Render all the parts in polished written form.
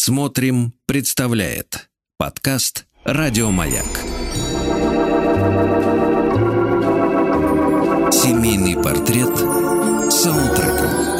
Смотрим, представляет подкаст «Радиомаяк». Семейный портрет с саундтреком.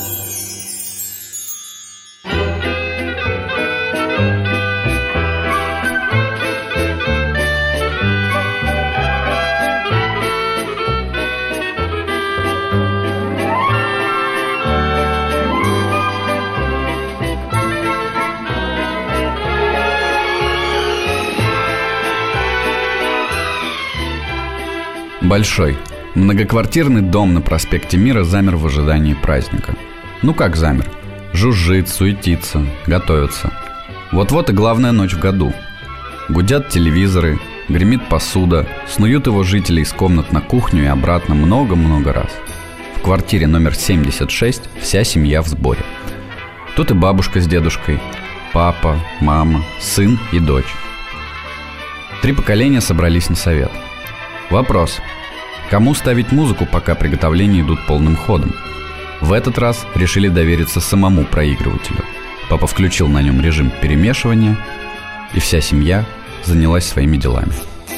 Большой, многоквартирный дом на проспекте Мира замер в ожидании праздника. Ну как замер? Жужжит, суетится, готовится. Вот-вот и главная ночь в году. Гудят телевизоры, гремит посуда, снуют его жители из комнат на кухню и обратно много-много раз. В квартире номер 76 вся семья в сборе. Тут и бабушка с дедушкой, папа, мама, сын и дочь. 3 поколения собрались на совет. Вопрос. Кому ставить музыку, пока приготовления идут полным ходом? В этот раз решили довериться самому проигрывателю. Папа включил на нем режим перемешивания, и вся семья занялась своими делами.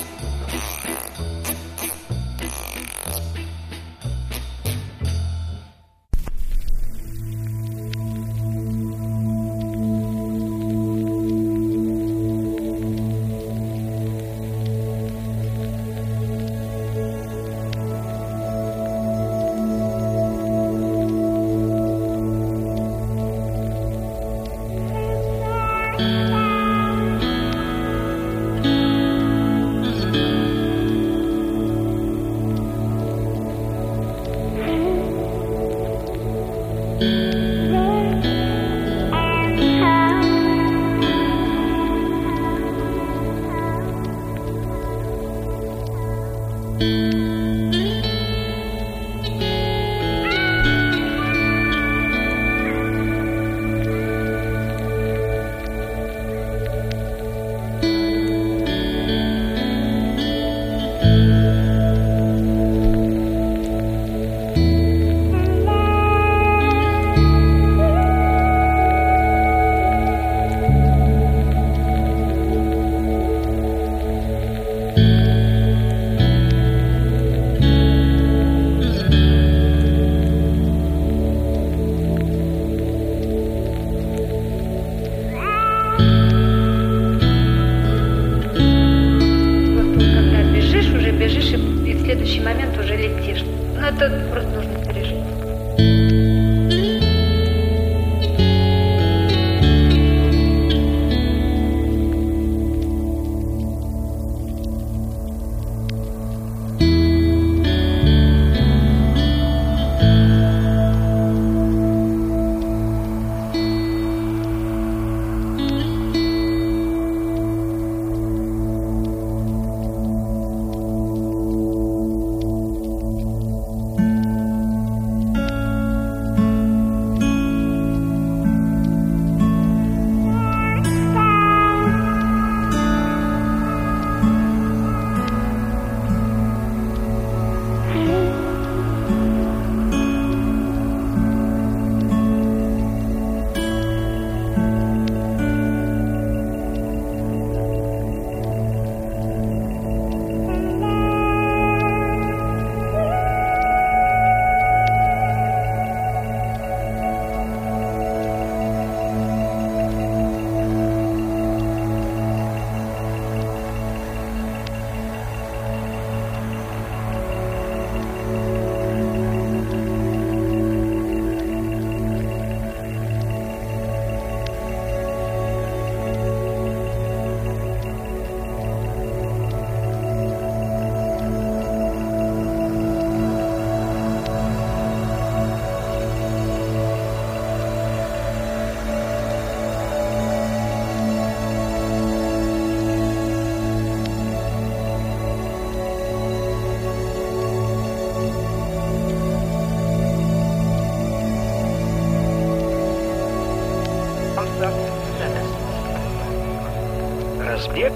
Разбег.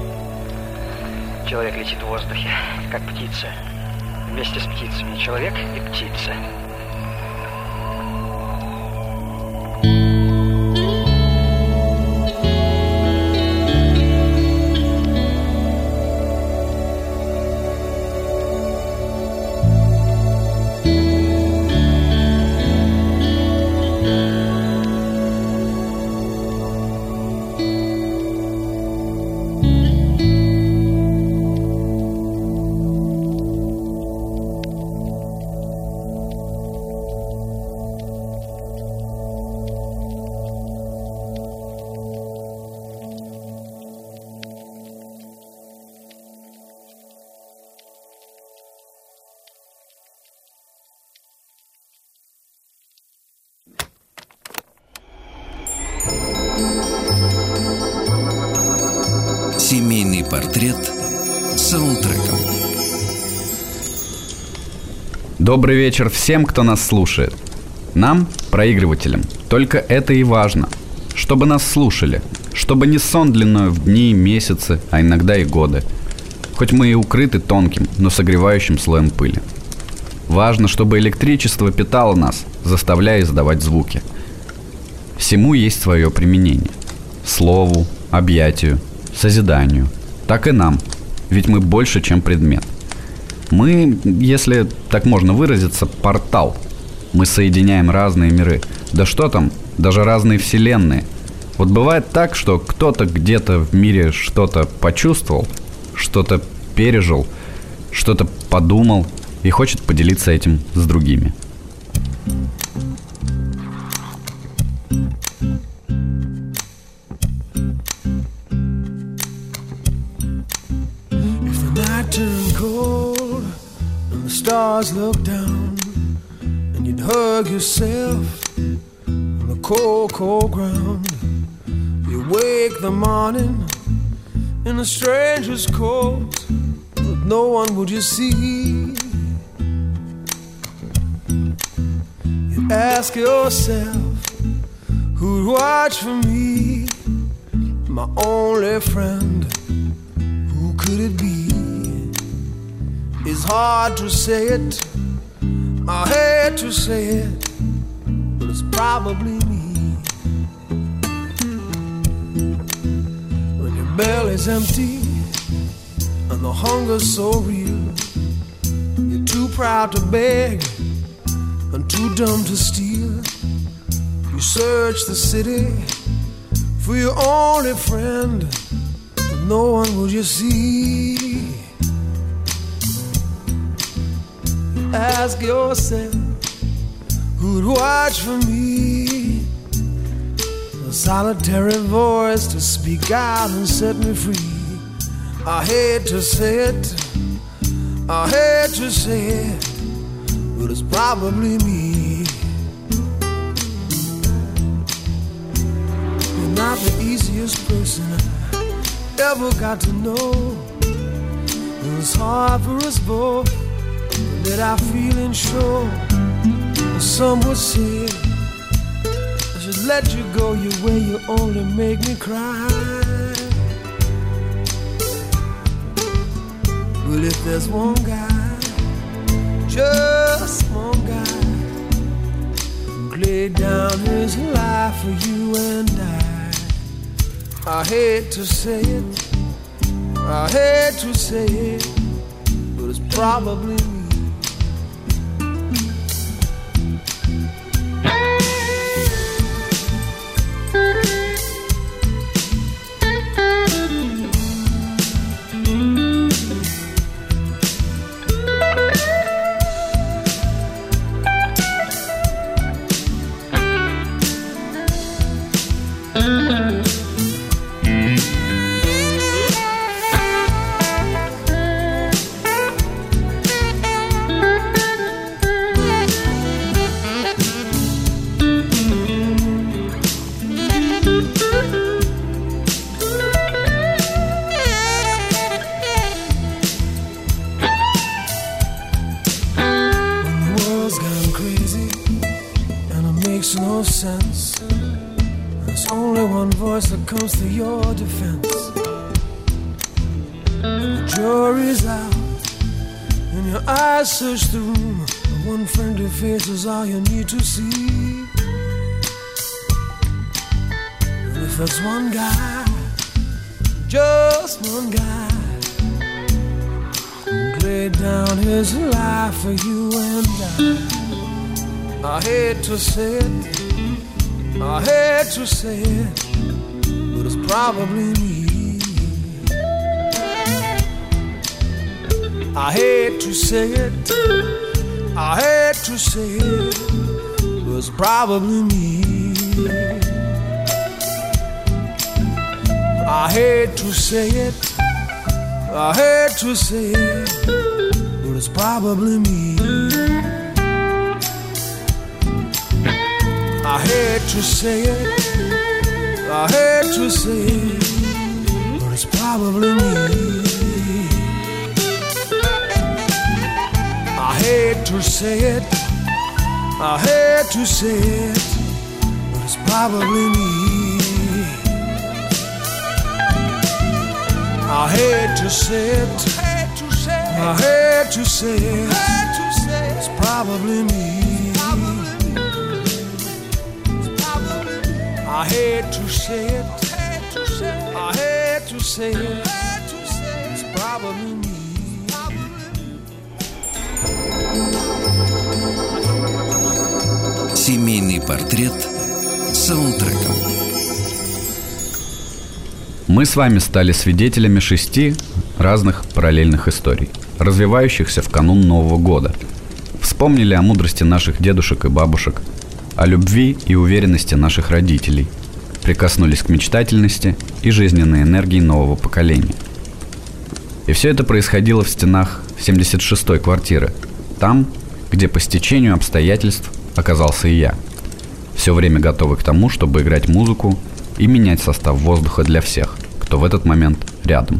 Человек летит в воздухе, как птица. Вместе с птицами человек и птица. Семейный портрет саундтреком. Добрый вечер всем, кто нас слушает. Нам, проигрывателям, только это и важно. Чтобы нас слушали. Чтобы не сон длиною в дни, месяцы, а иногда и годы. Хоть мы и укрыты тонким, но согревающим слоем пыли. Важно, чтобы электричество питало нас, заставляя издавать звуки. Всему есть свое применение. Слову, объятию, созиданию. Так и нам, ведь мы больше, чем предмет. Мы, если так можно выразиться, портал. Мы соединяем разные миры. Да что там, даже разные вселенные. Вот бывает так, что кто-то где-то в мире что-то почувствовал, что-то пережил, что-то подумал и хочет поделиться этим с другими. Stars look down and you'd hug yourself on the cold, cold ground. You wake the morning in a stranger's coat, but no one would you see. You ask yourself, who'd watch for me? My only friend, who could it be? It's hard to say it, I hate to say it, but it's probably me. When your belly's empty and the hunger's so real, you're too proud to beg and too dumb to steal. You search the city for your only friend, but no one will you see. Ask yourself, who'd watch for me? A solitary voice to speak out and set me free. I hate to say it, I hate to say it, but it's probably me. You're not the easiest person I ever got to know. It was hard for us both, that I feeling sure. Some would say I should let you go your way, you only make me cry. Well, if there's one guy, just one guy, who laid down his life for you and I hate to say it, I hate to say it, but it's probably me. No sense. There's only one voice that comes to your defense. The jury's out and your eyes search the room. The one friendly face is all you need to see. And if there's one guy, just one guy, who laid down his life for you and I hate to say it, I hate to say it, but it's probably me. I hate to say it, I hate to say it, but it's probably me. I hate to say it, I hate to say it, but it's probably me. I hate to say it, I hate to say it, but it's it's probably me. I hate to say it, I hate to say it, but it's probably me. I hate to say it, I hate to say it, it's probably me. I hate to say it, I hate to say it, it's probably me. Семейный портрет саундтреком. Мы с вами стали свидетелями 6 разных параллельных историй, развивающихся в канун Нового года. Вспомнили о мудрости наших дедушек и бабушек, о любви и уверенности наших родителей, прикоснулись к мечтательности и жизненной энергии нового поколения. И все это происходило в стенах 76-й квартиры, там, где по стечению обстоятельств оказался и я, все время готовый к тому, чтобы играть музыку и менять состав воздуха для всех, кто в этот момент рядом.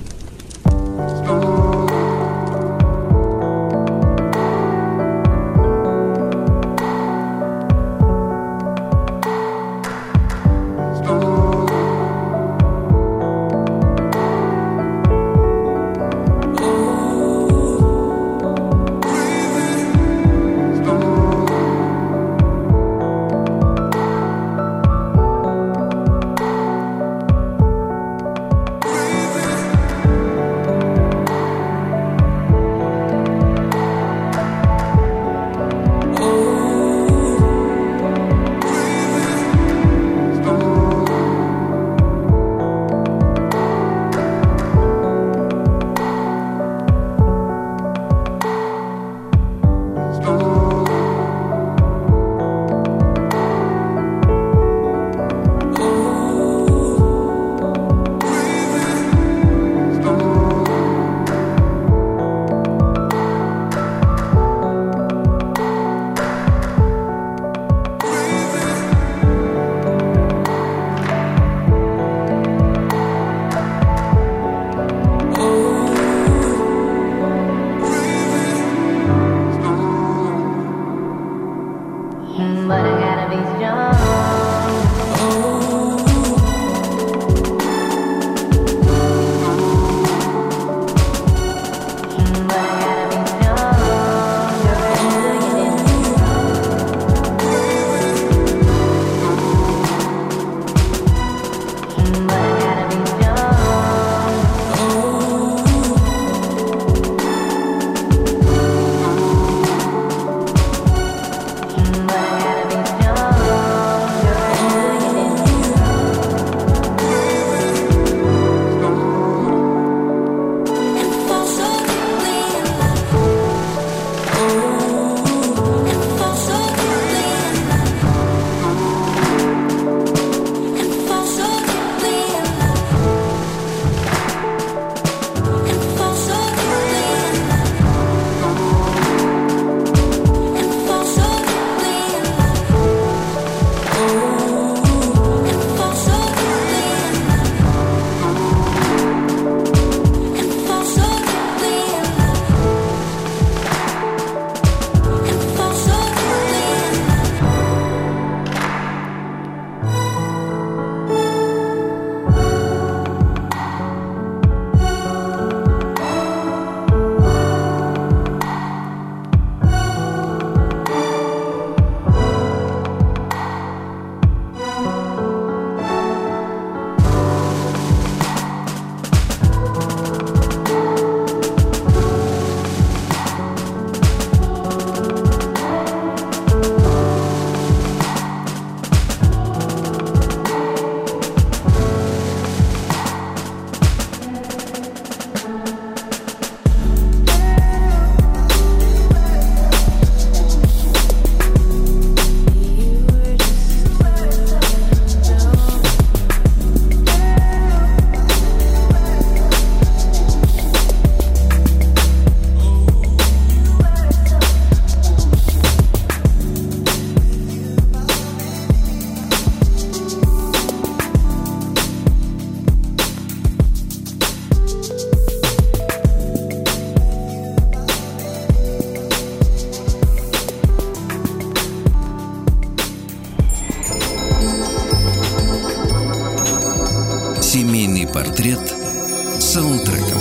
Семейный портрет саундтреком.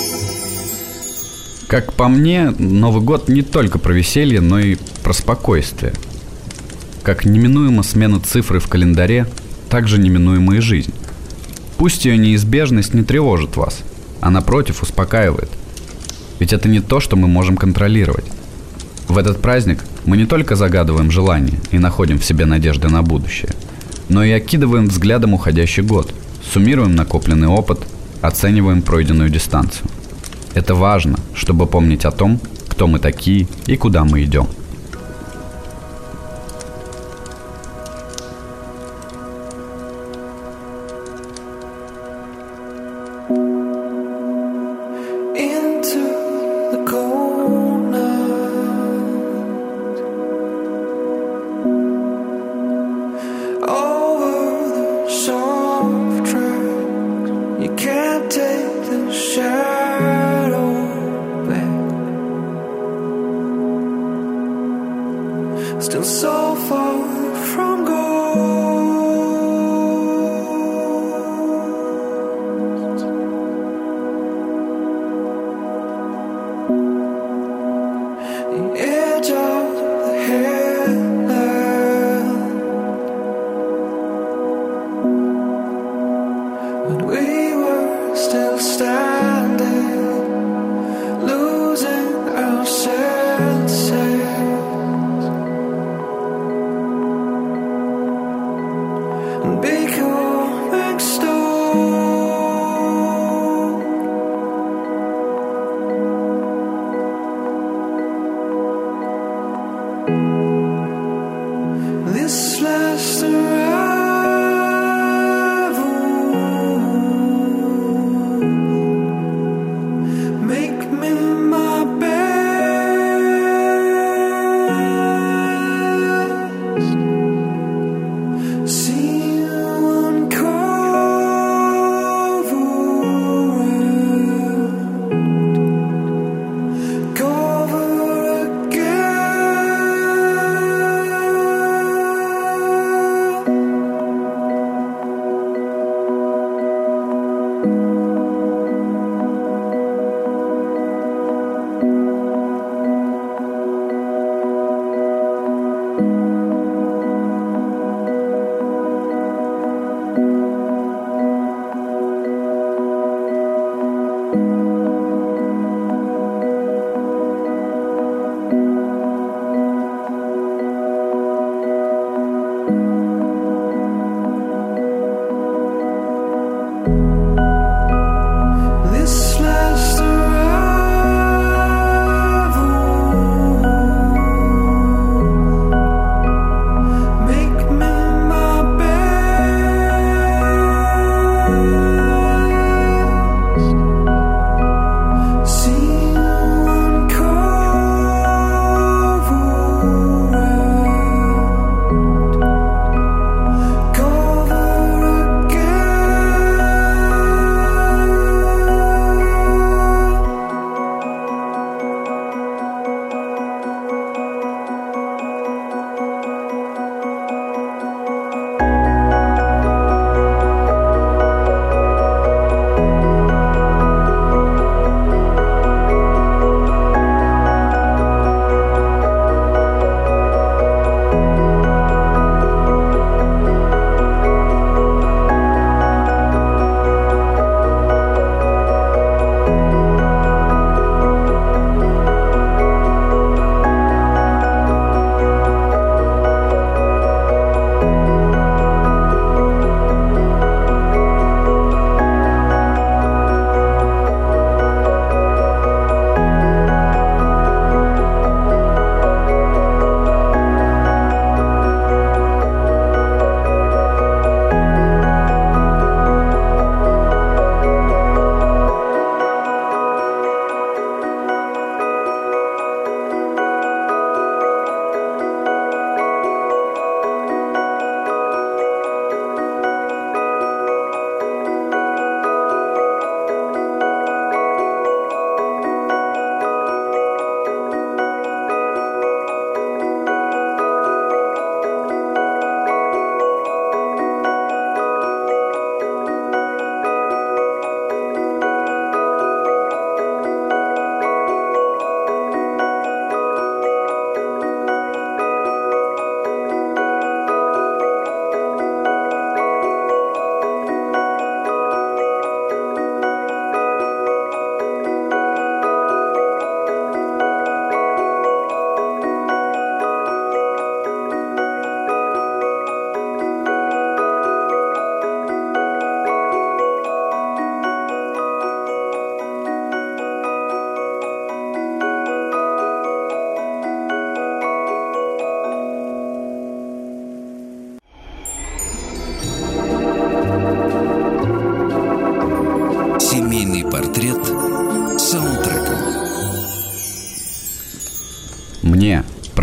Как по мне, Новый год не только про веселье, но и про спокойствие. Как неминуема смена цифры в календаре, так же неминуема и жизнь. Пусть ее неизбежность не тревожит вас, а напротив успокаивает. Ведь это не то, что мы можем контролировать. В этот праздник мы не только загадываем желания и находим в себе надежды на будущее, но и окидываем взглядом уходящий год, суммируем накопленный опыт, оцениваем пройденную дистанцию. Это важно, чтобы помнить о том, кто мы такие и куда мы идем. Still so far from gold. The edge of the headland, but we were still standing, losing our senses. Becoming stone. This last arrival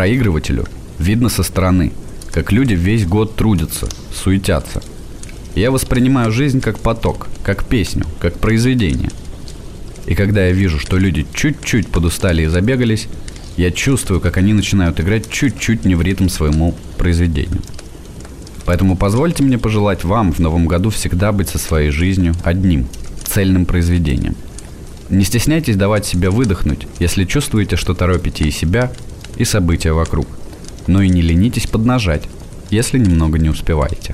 Проигрывателю видно со стороны, как люди весь год трудятся, суетятся. Я воспринимаю жизнь как поток, как песню, как произведение. И когда я вижу, что люди чуть-чуть подустали и забегались, я чувствую, как они начинают играть чуть-чуть не в ритм своему произведению. Поэтому позвольте мне пожелать вам в новом году всегда быть со своей жизнью одним, цельным произведением. Не стесняйтесь давать себе выдохнуть, если чувствуете, что торопите и себя, и события вокруг. Но и не ленитесь поднажать, если немного не успеваете.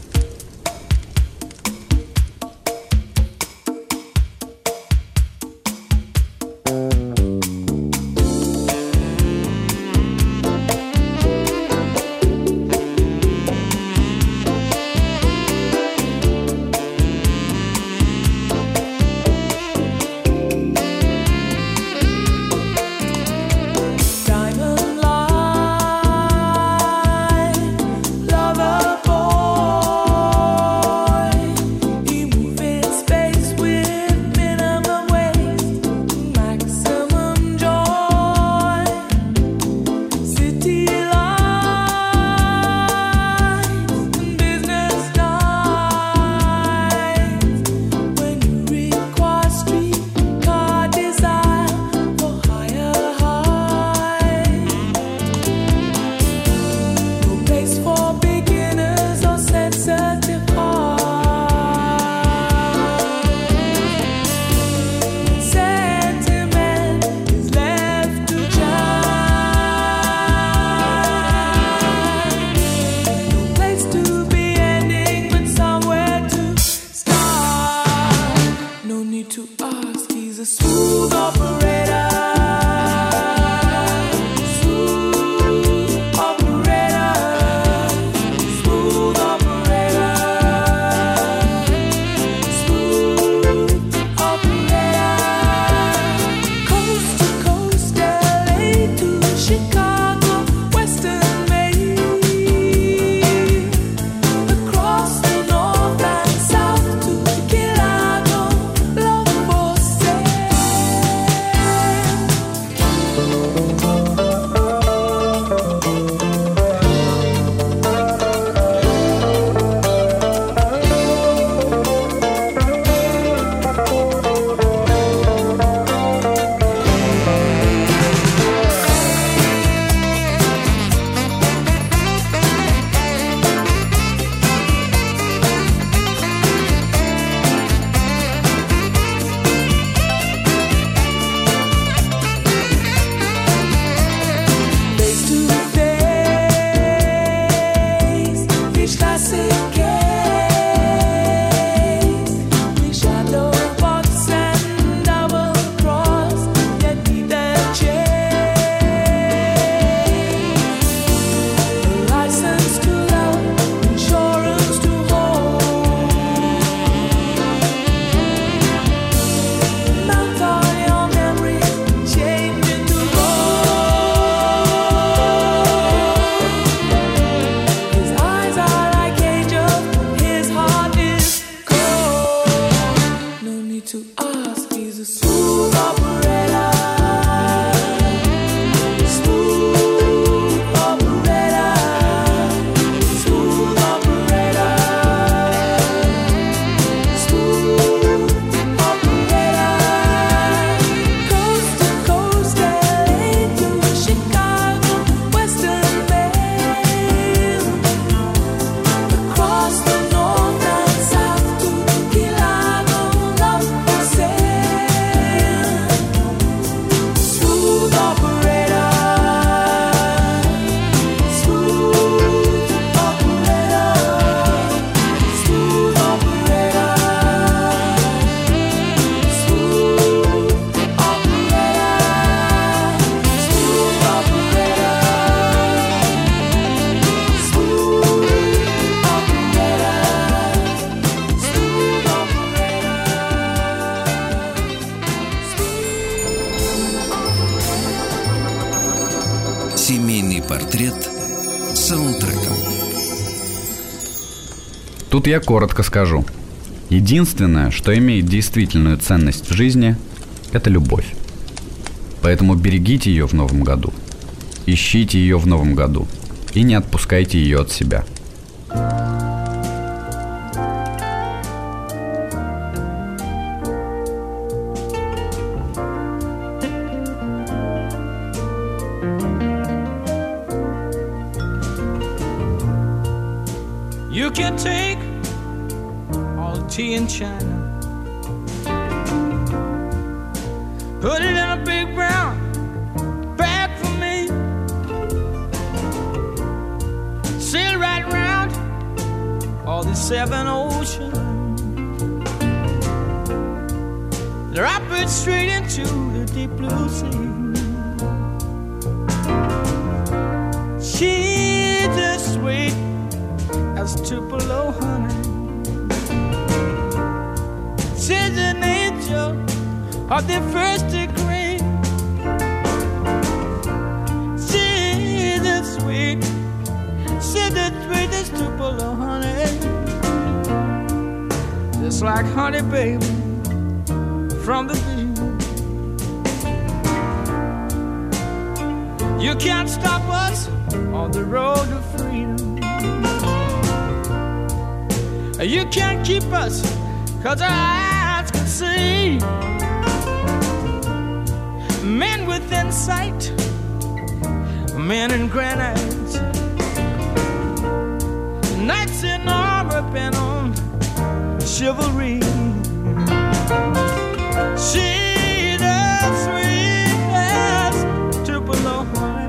Семейный портрет саундтреком. Тут я коротко скажу. Единственное, что имеет действительную ценность в жизни, это любовь. Поэтому берегите ее в новом году. ищите ее в новом году и не отпускайте ее от себя. You can take all the tea in China, put it in a big brown bag for me, sail right round all the 7 oceans, drop it straight into the deep blue sea. She's as sweet as Tupelo honey. She's an angel of the first degree. She's as sweet, she's the sweetest Tupelo honey. Just like honey, baby, from the bee. You can't stop us on the road to freedom. You can't keep us, 'cause our eyes can see. Men within sight, men in granite, knights in armor bent on chivalry. She's as sweet as Tupelo honey.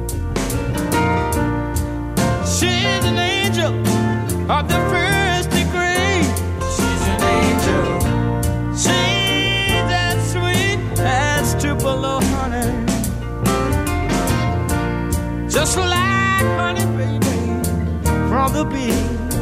She's an angel of the first degree. She's an angel. She's as sweet as Tupelo honey. Just like honey, baby, from the bee.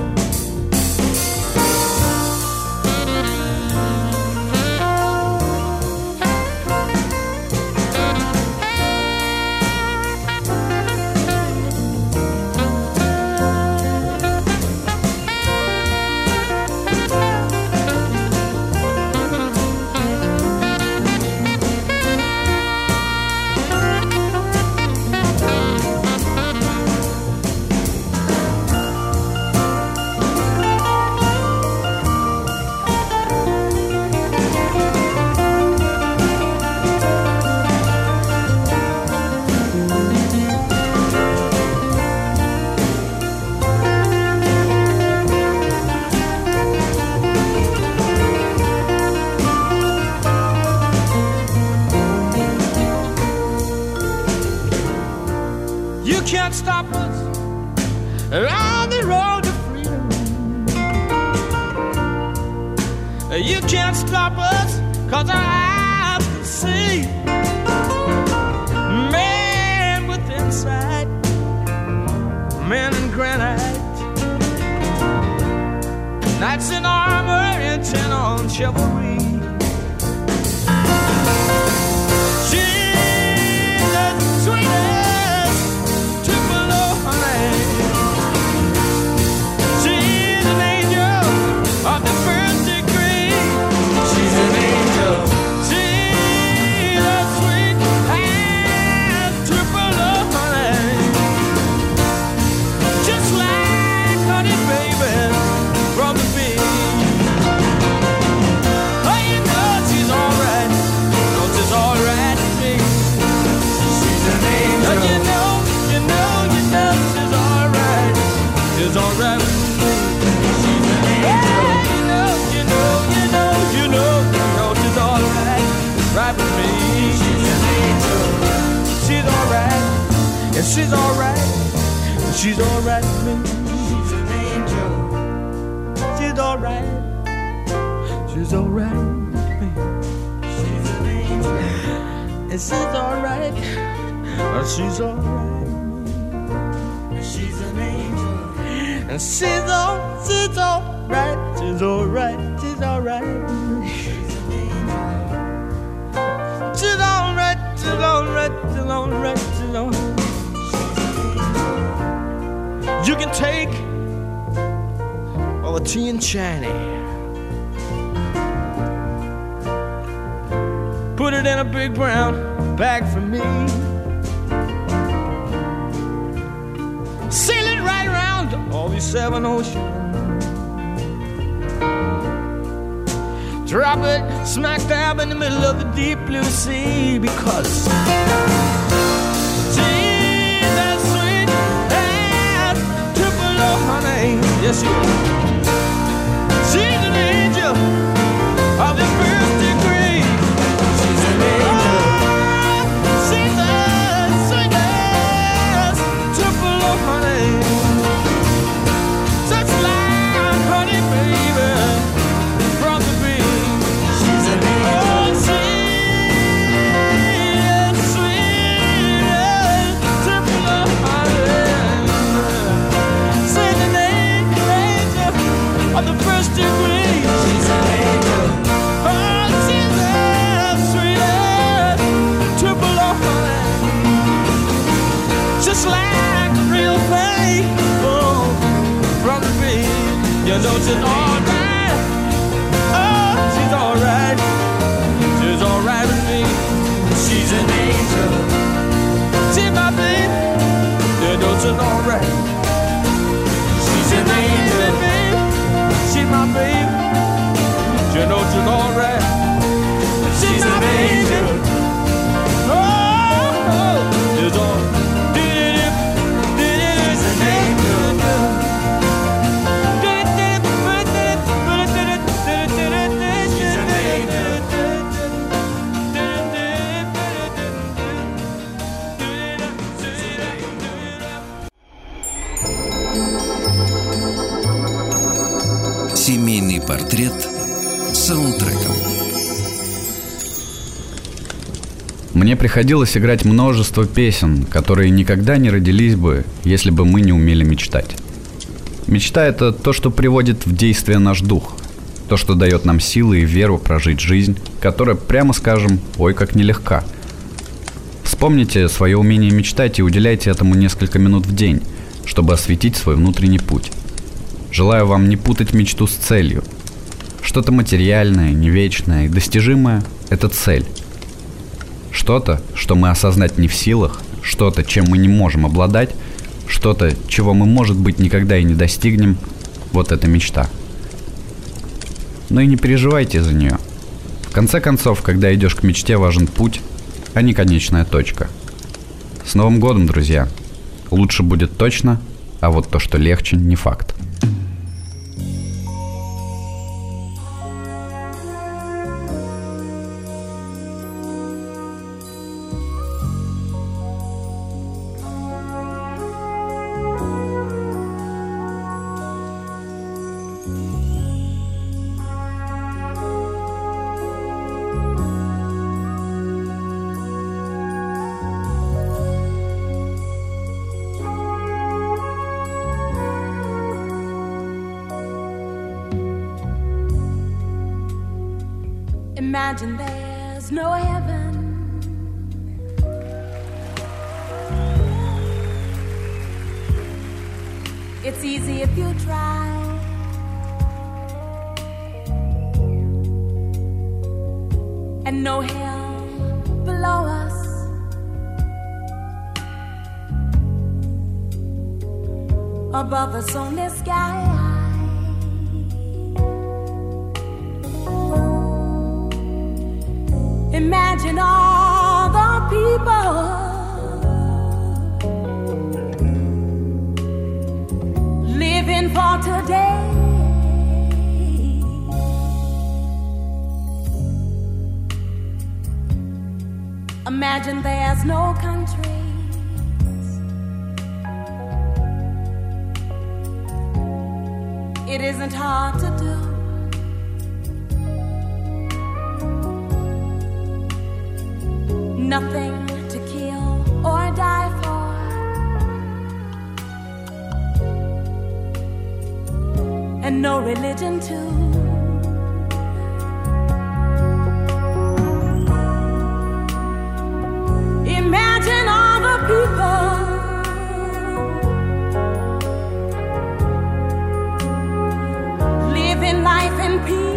Can't stop us on the road to freedom. You can't stop us, 'cause our eyes can see. Men with insight, men in granite, knights in armor intent on chivalry. She's the sweetest Tupelo honey. She's an angel of the first degree. She's an angel. She's as sweet as Tupelo honey. Just like honey, baby, from the bee. Oh, you know she's alright. Oh, she's alright to me. She's an angel. Oh, you know she's alright. She's alright with me. She's an angel. You know she's alright. Right with me. She's an angel. She's alright. And she's alright. And she's alright with me. She's an angel. She's alright. She's alright with me. She's an angel. And she's alright. And she's alright. She's an angel. And she's alright. She's alright. She's alright. She's alright. She's alright. She's alright. She's alright. She's alright. You can take all the tea and China, put it in a big brown bag for me, all these seven oceans. Drop it smack dab in the middle of the deep blue sea, because she's that sweet and Tupelo honey. Yes, she is. She's an angel of the first degree. She's an angel. She's the sweetest Tupelo honey. Such like honey, baby, from the bee. She's an angel. Oh, she's sweet Tupelo honey. She's an angel of the first degree. She's an angel. Oh, she's the sweetest Tupelo honey. Just like a real thing, oh, from the bee. You know she's alright. Oh, she's alright. She's alright with me. She's an angel. She's my baby. You know she's alright. She's an angel. She's my baby. You know she's alright. She's an angel. Oh, she's all. She's an angel. She's an angel. Семейный портрет саундтреком. Мне приходилось играть множество песен, которые никогда не родились бы, если бы мы не умели мечтать. Мечта — это то, что приводит в действие наш дух, то, что дает нам силы и веру прожить жизнь, которая, прямо скажем, ой, как нелегка. Вспомните свое умение мечтать и уделяйте этому несколько минут в день, чтобы осветить свой внутренний путь. Желаю вам не путать мечту с целью. Что-то материальное, не вечное и достижимое — это цель. Что-то, что мы осознать не в силах, что-то, чем мы не можем обладать, что-то, чего мы, может быть, никогда и не достигнем — вот это мечта. Но и не переживайте за нее. В конце концов, когда идешь к мечте, важен путь, а не конечная точка. С Новым годом, друзья! Лучше будет точно, а вот то, что легче, не факт. Imagine there's no heaven. It's easy if you try. And no hell below us. Above us only sky. Imagine all the people living for today. Imagine there's no countries. It isn't hard to do. Nothing to kill or die for. And no religion too. Imagine all the people living life in peace.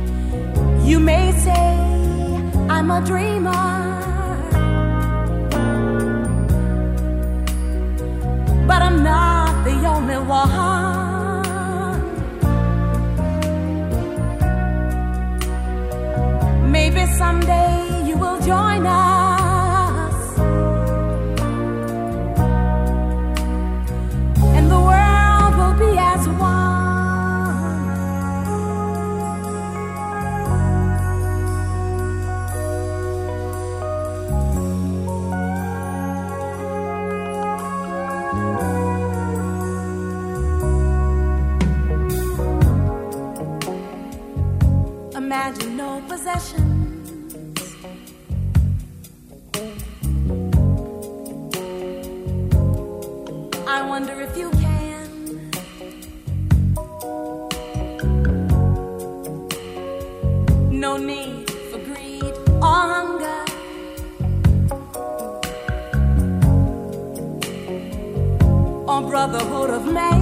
You may say I'm a dreamer, imagine no possessions. I wonder if you can. No need for greed or hunger. Or brotherhood of man.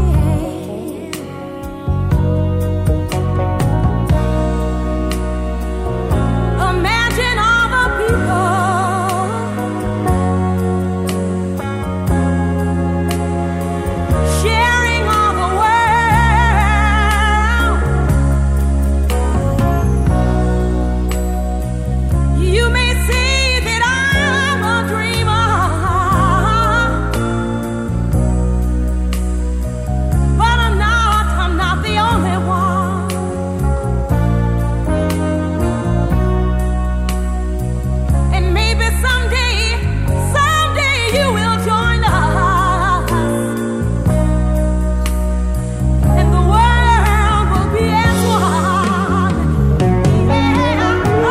Imagine all the people sharing all the world. You may see that I'm a dreamer, but I'm not the only one. And maybe someday you will join us, and the world will be as one. Yeah. Oh,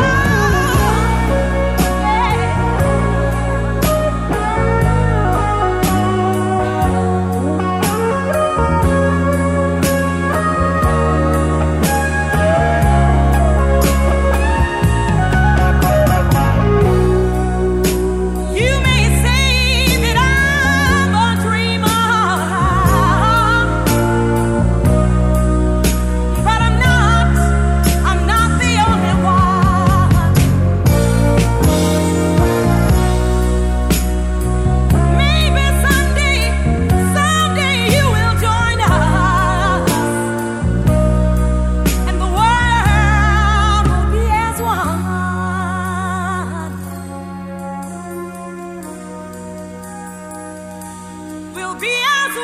you may say that I'm a dreamer, but I'm not the only one. Maybe someday you will join us, and the world will be as one. We'll be as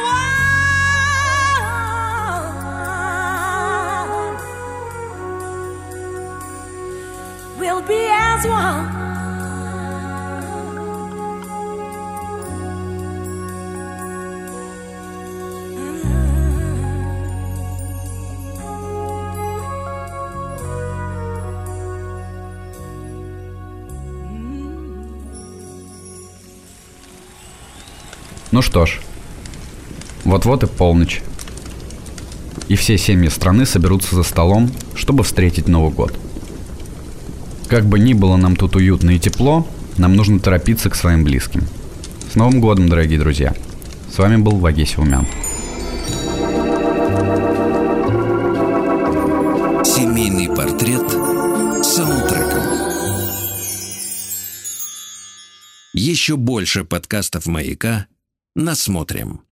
one. We'll be as one. Ну что ж, вот-вот и полночь. И все семьи страны соберутся за столом, чтобы встретить Новый год. Как бы ни было нам тут уютно и тепло, нам нужно торопиться к своим близким. С Новым годом, дорогие друзья! С вами был Вагеси Умян. Семейный портрет саундтреком. Еще больше подкастов «Маяка» насмотрим.